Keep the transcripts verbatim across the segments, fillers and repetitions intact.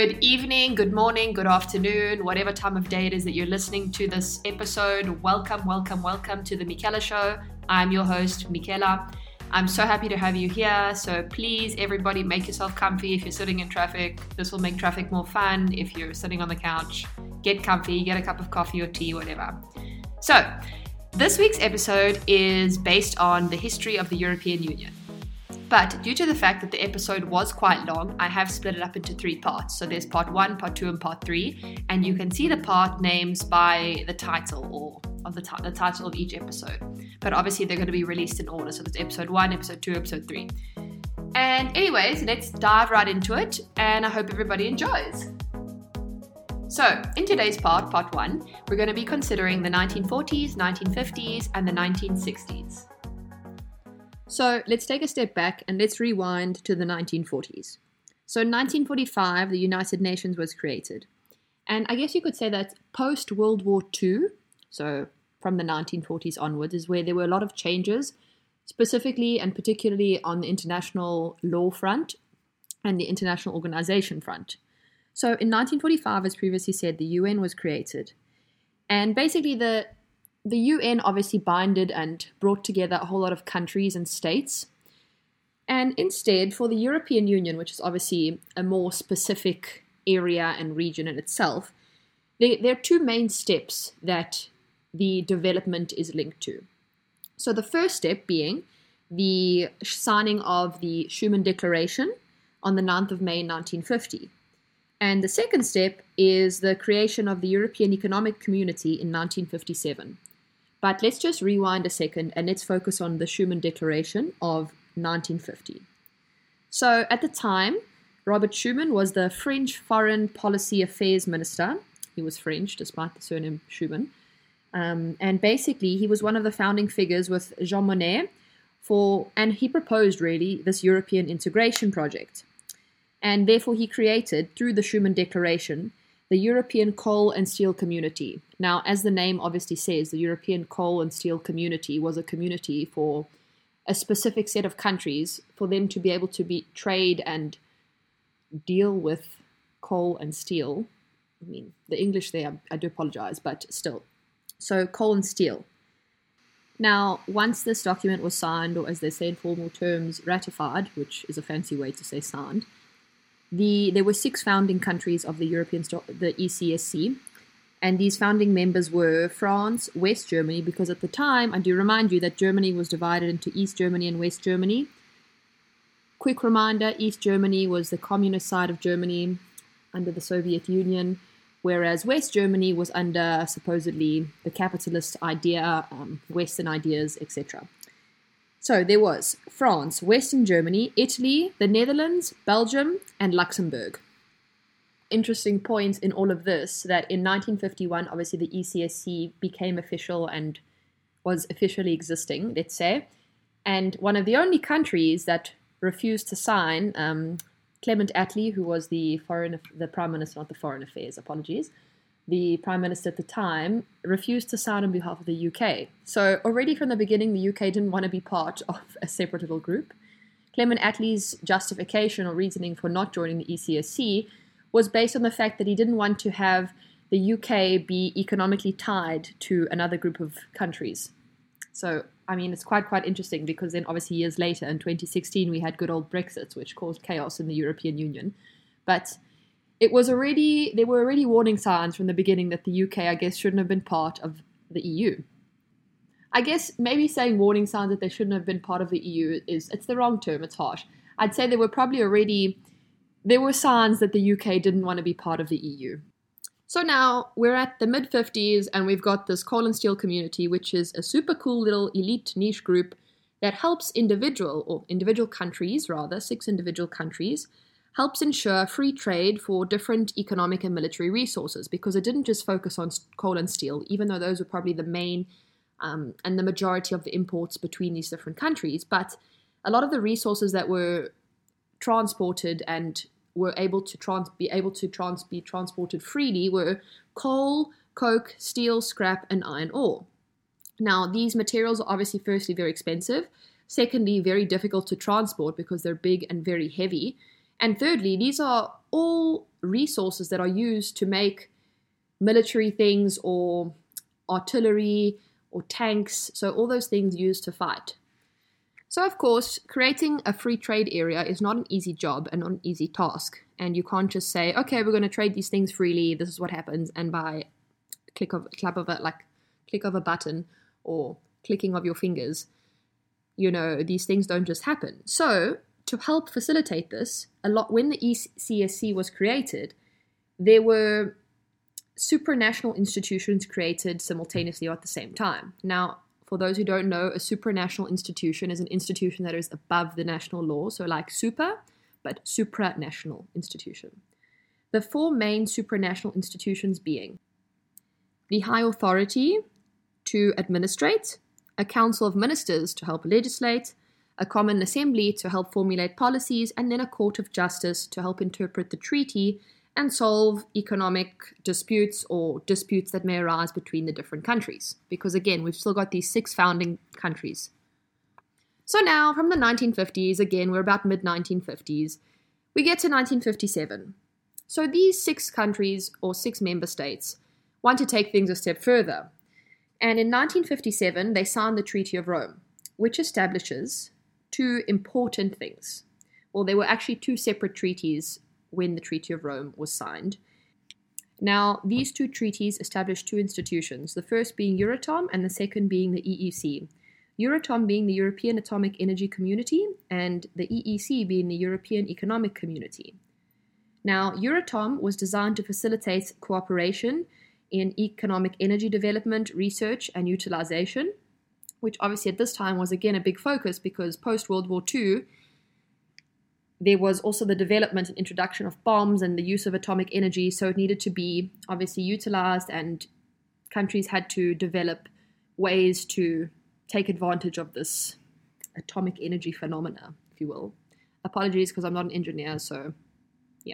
Good evening, good morning, good afternoon, whatever time of day it is that you're listening to this episode. Welcome, welcome, welcome to the Michaela Show. I'm your host, Michaela. I'm so happy to have you here. So please, everybody, make yourself comfy. If you're sitting in traffic, this will make traffic more fun. If you're sitting on the couch, get comfy, get a cup of coffee or tea, whatever. So this week's episode is based on the history of the European Union. But due to the fact that the episode was quite long, I have split it up into three parts. So there's part one, part two, and part three. And you can see the part names by the title or of the, t- the title of each episode. But obviously they're going to be released in order. So there's episode one, episode two, episode three. And anyways, let's dive right into it. And I hope everybody enjoys. So in today's part, part one, we're going to be considering the nineteen forties, nineteen fifties, and the nineteen sixties. So let's take a step back and let's rewind to the nineteen forties. So in nineteen forty-five, the United Nations was created. And I guess you could say that post-World War Two, so from the nineteen forties onwards, is where there were a lot of changes, specifically and particularly on the international law front and the international organization front. So in nineteen forty-five, as previously said, the U N was created. And basically the The U N obviously binded and brought together a whole lot of countries and states. And instead, for the European Union, which is obviously a more specific area and region in itself, there, there are two main steps that the development is linked to. So the first step being the signing of the Schuman Declaration on the ninth of May nineteen fifty. And the second step is the creation of the European Economic Community in nineteen fifty-seven. But let's just rewind a second and let's focus on the Schuman Declaration of nineteen fifty. So at the time, Robert Schuman was the French Foreign Policy Affairs Minister. He was French, despite the surname Schuman. Um, and basically, he was one of the founding figures with Jean Monnet for, and he proposed really this European integration project. And therefore, he created, through the Schuman Declaration, the European Coal and Steel Community. Now, as the name obviously says, the European Coal and Steel Community was a community for a specific set of countries for them to be able to be trade and deal with coal and steel. I mean, the English there, I do apologize, but still. So, coal and steel. Now, once this document was signed, or as they say in formal terms, ratified, which is a fancy way to say signed, The, there were six founding countries of the European, the E C S C, and these founding members were France, West Germany, because at the time, I do remind you that Germany was divided into East Germany and West Germany. Quick reminder, East Germany was the communist side of Germany under the Soviet Union, whereas West Germany was under supposedly the capitalist idea, um, Western ideas, et cetera. So there was France, Western Germany, Italy, the Netherlands, Belgium, and Luxembourg. Interesting point in all of this that in nineteen fifty-one, obviously the E C S C became official and was officially existing, let's say. And one of the only countries that refused to sign, um, Clement Attlee, who was the foreign, the Prime Minister, not the Foreign Affairs, apologies, the Prime Minister at the time, refused to sign on behalf of the U K. So already from the beginning, the U K didn't want to be part of a separate little group. Clement Attlee's justification or reasoning for not joining the E C S C was based on the fact that he didn't want to have the U K be economically tied to another group of countries. So, I mean, it's quite, quite interesting because then obviously years later, in twenty sixteen, we had good old Brexit, which caused chaos in the European Union. But It was already, there were already warning signs from the beginning that the U K, I guess, shouldn't have been part of the E U. I guess maybe saying warning signs that they shouldn't have been part of the E U is, it's the wrong term, it's harsh. I'd say there were probably already, there were signs that the U K didn't want to be part of the E U. So now we're at the mid fifties and we've got this coal and steel community, which is a super cool little elite niche group that helps individual, or individual countries rather, six individual countries, helps ensure free trade for different economic and military resources, because it didn't just focus on coal and steel, even though those were probably the main um, and the majority of the imports between these different countries. But a lot of the resources that were transported and were able to trans- be able to trans- be transported freely were coal, coke, steel, scrap, and iron ore. Now, these materials are obviously firstly very expensive, secondly very difficult to transport because they're big and very heavy, And thirdly, these are all resources that are used to make military things or artillery or tanks, so all those things used to fight. So of course, creating a free trade area is not an easy job and not an easy task. And you can't just say, okay, we're going to trade these things freely, this is what happens, and by click of clap of it, like click of a button or clicking of your fingers, you know, these things don't just happen. So to help facilitate this, a lot when the E C S C was created, there were supranational institutions created simultaneously at the same time. Now, for those who don't know, a supranational institution is an institution that is above the national law, so like super, but supranational institution. The four main supranational institutions being the High Authority to administrate, a Council of Ministers to help legislate, a Common Assembly to help formulate policies, and then a Court of Justice to help interpret the treaty and solve economic disputes or disputes that may arise between the different countries. Because again, we've still got these six founding countries. So now, from the nineteen fifties, again, we're about mid nineteen fifties, we get to nineteen fifty-seven. So these six countries, or six member states, want to take things a step further. And in nineteen fifty-seven, they signed the Treaty of Rome, which establishes two important things. Well, there were actually two separate treaties when the Treaty of Rome was signed. Now, these two treaties established two institutions, the first being Euratom and the second being the E E C. Euratom being the European Atomic Energy Community and the E E C being the European Economic Community. Now, Euratom was designed to facilitate cooperation in economic energy development, research, and utilization, which obviously at this time was again a big focus because post-World War Two, there was also the development and introduction of bombs and the use of atomic energy, so it needed to be obviously utilized, and countries had to develop ways to take advantage of this atomic energy phenomena, if you will. Apologies because I'm not an engineer, so yeah.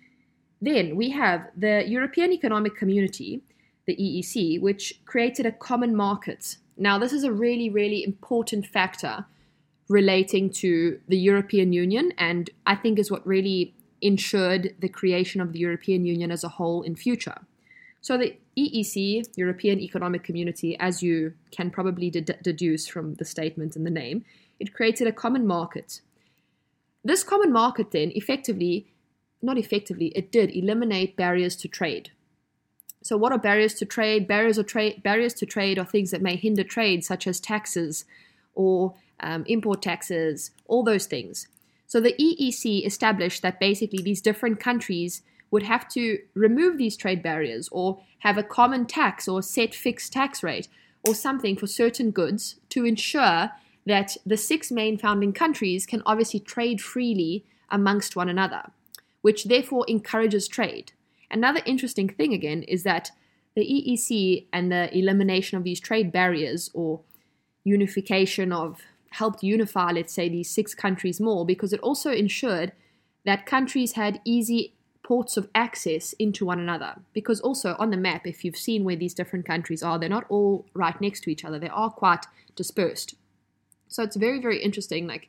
Then we have the European Economic Community, the E E C, which created a common market. Now, this is a really, really important factor relating to the European Union, and I think is what really ensured the creation of the European Union as a whole in future. So the E E C, European Economic Community, as you can probably de- deduce from the statement and the name, it created a common market. This common market then effectively, not effectively, it did eliminate barriers to trade. So what are barriers to trade? Barriers, or tra- barriers to trade are things that may hinder trade, such as taxes or um, import taxes, all those things. So the E E C established that basically these different countries would have to remove these trade barriers or have a common tax or set fixed tax rate or something for certain goods to ensure that the six main founding countries can obviously trade freely amongst one another, which therefore encourages trade. Another interesting thing again is that the E E C and the elimination of these trade barriers or unification of helped unify, let's say, these six countries more, because it also ensured that countries had easy ports of access into one another. Because also on the map, if you've seen where these different countries are, they're not all right next to each other. They are quite dispersed. So it's very, very interesting. Like,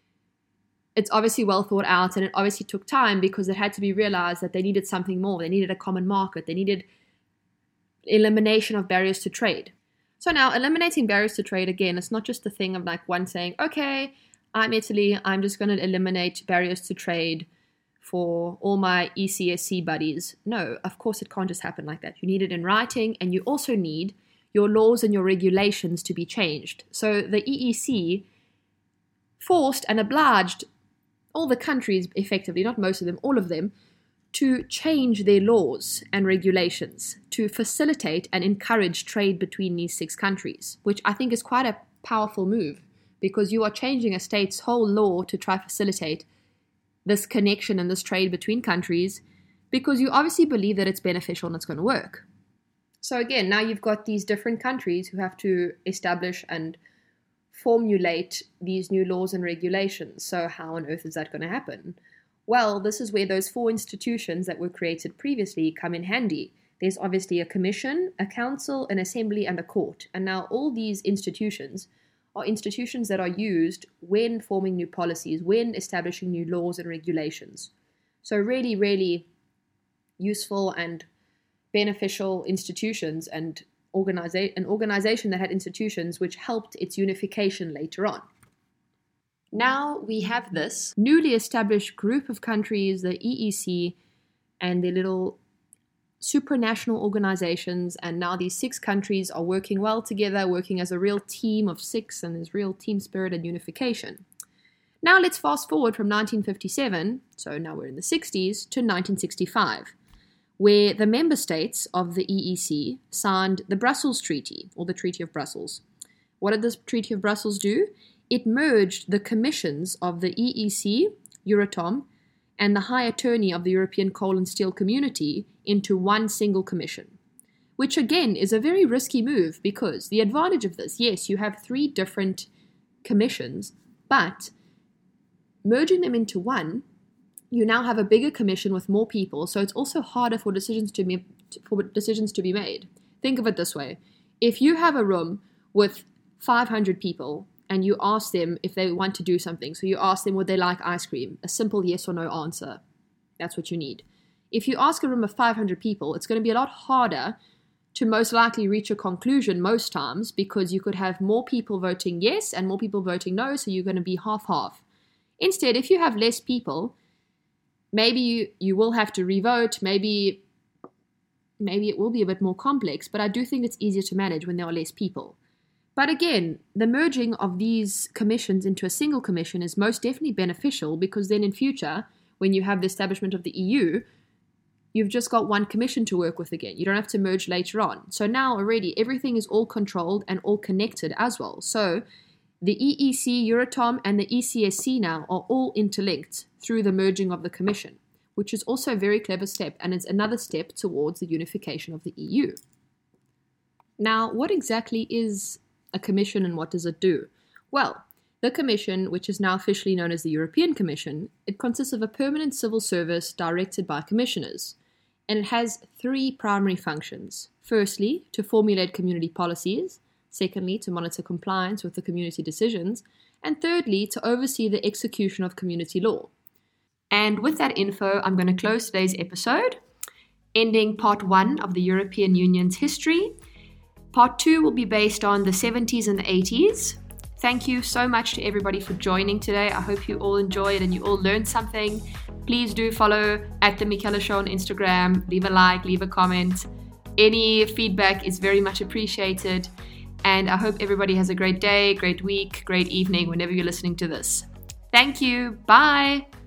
it's obviously well thought out, and it obviously took time because it had to be realized that they needed something more. They needed a common market. They needed elimination of barriers to trade. So now eliminating barriers to trade, again, it's not just a thing of like one saying, okay, I'm Italy, I'm just going to eliminate barriers to trade for all my E C S C buddies. No, of course it can't just happen like that. You need it in writing, and you also need your laws and your regulations to be changed. So the E E C forced and obliged all the countries, effectively, not most of them, all of them, to change their laws and regulations to facilitate and encourage trade between these six countries, which I think is quite a powerful move, because you are changing a state's whole law to try to facilitate this connection and this trade between countries, because you obviously believe that it's beneficial and it's going to work. So again, now you've got these different countries who have to establish and formulate these new laws and regulations. So how on earth is that going to happen? Well, this is where those four institutions that were created previously come in handy. There's obviously a commission, a council, an assembly, and a court. And now all these institutions are institutions that are used when forming new policies, when establishing new laws and regulations. So really, really useful and beneficial institutions and organiza- an organization that had institutions which helped its unification later on. Now we have this newly established group of countries, the E E C, and their little supranational organizations, and now these six countries are working well together, working as a real team of six, and there's real team spirit and unification. Now let's fast forward from nineteen fifty-seven, so now we're in the sixties, to nineteen sixty-five, where the member states of the E E C signed the Brussels Treaty, or the Treaty of Brussels. What did this Treaty of Brussels do? It merged the commissions of the E E C, Euratom, and the High Attorney of the European Coal and Steel Community into one single commission, which again is a very risky move, because the advantage of this, yes, you have three different commissions, but merging them into one, you now have a bigger commission with more people, so it's also harder for decisions to be, for decisions to be made. Think of it this way. If you have a room with five hundred people and you ask them if they want to do something, so you ask them would they like ice cream, a simple yes or no answer, that's what you need. If you ask a room of five hundred people, it's going to be a lot harder to most likely reach a conclusion most times, because you could have more people voting yes and more people voting no, so you're going to be half-half. Instead, if you have less people, maybe you, you will have to revote, maybe, maybe it will be a bit more complex, but I do think it's easier to manage when there are less people. But again, the merging of these commissions into a single commission is most definitely beneficial, because then in future, when you have the establishment of the E U, you've just got one commission to work with again. You don't have to merge later on. So now already everything is all controlled and all connected as well. So the E E C, Euratom, and the E C S C now are all interlinked through the merging of the commission, which is also a very clever step, and it's another step towards the unification of the E U. Now, what exactly is a commission and what does it do? Well, the commission, which is now officially known as the European Commission, it consists of a permanent civil service directed by commissioners, and it has three primary functions. Firstly, to formulate community policies. Secondly, to monitor compliance with the community decisions. And thirdly, to oversee the execution of community law. And with that info, I'm going to close today's episode, ending part one of the European Union's history. Part two will be based on the seventies and the eighties. Thank you so much to everybody for joining today. I hope you all enjoyed and you all learned something. Please do follow at The Michela Show on Instagram. Leave a like, leave a comment. Any feedback is very much appreciated. And I hope everybody has a great day, great week, great evening whenever you're listening to this. Thank you. Bye.